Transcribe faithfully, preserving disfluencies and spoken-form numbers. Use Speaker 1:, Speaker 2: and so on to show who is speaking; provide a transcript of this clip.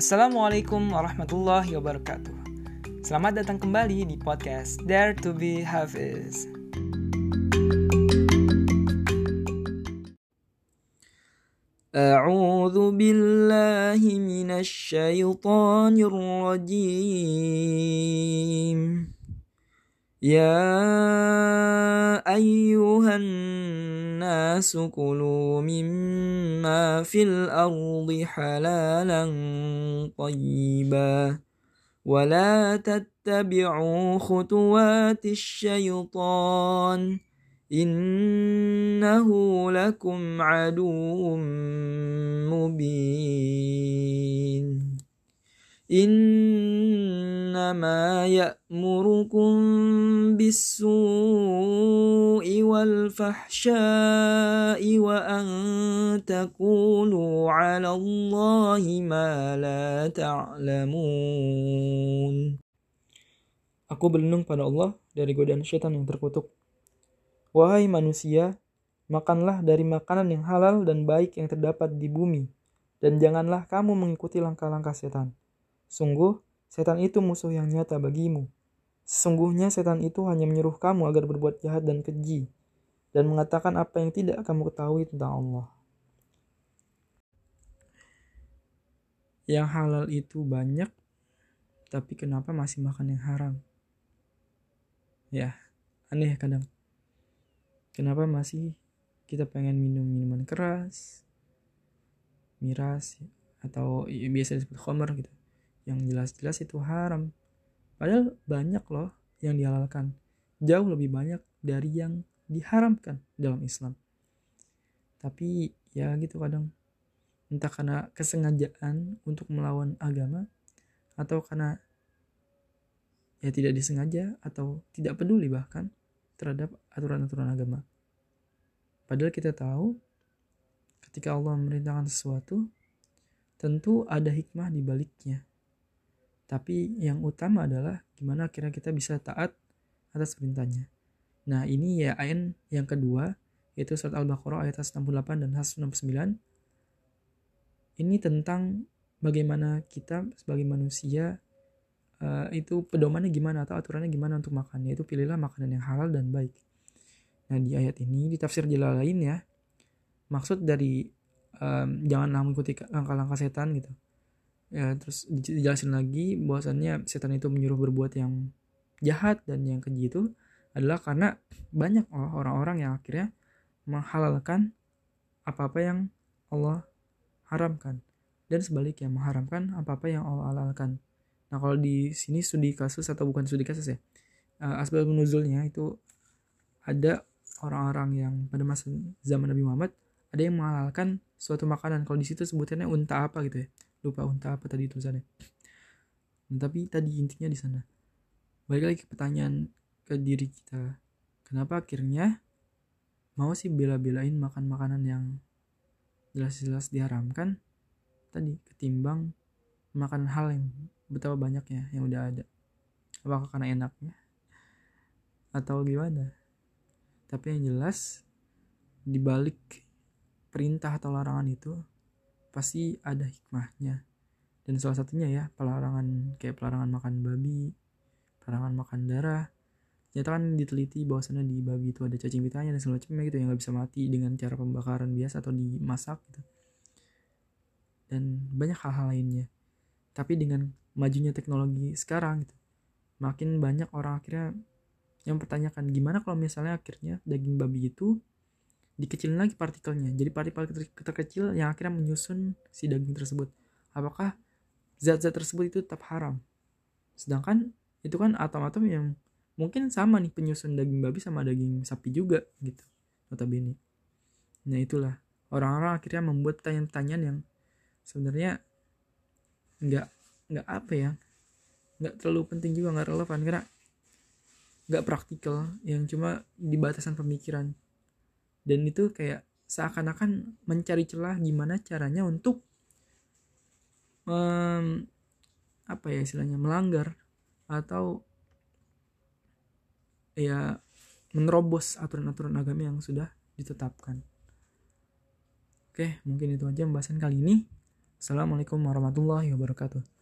Speaker 1: Assalamualaikum warahmatullahi wabarakatuh. Selamat datang kembali di podcast Dare to be Hafiz. A'udzu billahi minasy syaithanir rajim. Ya ayyuhan nasu kulu mimma fil ardi halalan tayyiban wa la tattabi'u khutuwatis syaitan innahu lakum aduwwum mubin. Innama ya'murukum bis-su'i wal fahsya'i wa an taqulu 'ala Allahi ma la ta'lamun. Aku berlindung pada Allah dari godaan syaitan yang terkutuk. Wahai manusia, makanlah dari makanan yang halal dan baik yang terdapat di bumi, dan janganlah kamu mengikuti langkah-langkah setan. Sungguh, setan itu musuh yang nyata bagimu. Sesungguhnya setan itu hanya menyuruh kamu agar berbuat jahat dan keji, dan mengatakan apa yang tidak kamu ketahui tentang Allah. Yang halal itu banyak, tapi kenapa masih makan yang haram? Ya, aneh kadang. Kenapa masih kita pengen minum minuman keras, miras, atau biasa disebut khamar gitu, yang jelas-jelas itu haram. Padahal banyak loh yang dihalalkan, jauh lebih banyak dari yang diharamkan dalam Islam. Tapi ya gitu kadang, entah karena kesengajaan untuk melawan agama, atau karena ya tidak disengaja atau tidak peduli bahkan terhadap aturan-aturan agama. Padahal kita tahu ketika Allah memerintahkan sesuatu, tentu ada hikmah di baliknya. Tapi yang utama adalah gimana akhirnya kita bisa taat atas perintahnya. Nah, ini ya ayat yang kedua, yaitu surat Al-Baqarah ayat enam puluh delapan dan enam puluh sembilan. Ini tentang bagaimana kita sebagai manusia uh, itu pedomannya gimana atau aturannya gimana untuk makan, yaitu pilihlah makanan yang halal dan baik. Nah, di ayat ini di tafsir Jalalain ya, maksud dari um, janganlah mengikuti langkah-langkah setan gitu. Ya, terus dijelasin lagi bahwasannya setan itu menyuruh berbuat yang jahat dan yang keji itu adalah karena banyak orang-orang yang akhirnya menghalalkan apa-apa yang Allah haramkan, dan sebaliknya mengharamkan apa-apa yang Allah halalkan. Nah, kalau di sini studi kasus atau bukan studi kasus ya, uh, asbab nuzulnya itu ada orang-orang yang pada masa zaman Nabi Muhammad ada yang menghalalkan suatu makanan. Kalau di situ sebutannya unta apa gitu ya, lupa unta apa tadi tulisannya. Nah, tapi tadi intinya di sana. Balik lagi ke pertanyaan ke diri kita, kenapa akhirnya mau sih bela-belain makan makanan yang jelas-jelas diharamkan tadi ketimbang makan hal yang betapa banyaknya yang udah ada? Apakah karena enaknya atau gimana? Tapi yang jelas di balik perintah atau larangan itu pasti ada hikmahnya. Dan salah satunya ya pelarangan, kayak pelarangan makan babi, pelarangan makan darah. Ternyata kan diteliti bahwasannya di babi itu ada cacing pitanya dan segala macamnya gitu yang nggak bisa mati dengan cara pembakaran biasa atau dimasak gitu. Dan banyak hal-hal lainnya. Tapi dengan majunya teknologi sekarang gitu, makin banyak orang akhirnya yang pertanyakan gimana kalau misalnya akhirnya daging babi itu dikecilin lagi partikelnya jadi partikel terkecil yang akhirnya menyusun si daging tersebut. Apakah zat-zat tersebut itu tetap haram? Sedangkan itu kan atom-atom yang mungkin sama nih penyusun daging babi sama daging sapi juga gitu notabene. Nah, itulah orang-orang akhirnya membuat pertanyaan-pertanyaan yang sebenarnya nggak nggak apa ya nggak terlalu penting juga, nggak relevan karena nggak praktikal, yang cuma di batasan pemikiran. Dan itu kayak seakan-akan mencari celah gimana caranya untuk um, apa ya istilahnya melanggar atau ya menerobos aturan-aturan agama yang sudah ditetapkan. Oke, mungkin itu aja pembahasan kali ini. Assalamualaikum warahmatullahi wabarakatuh.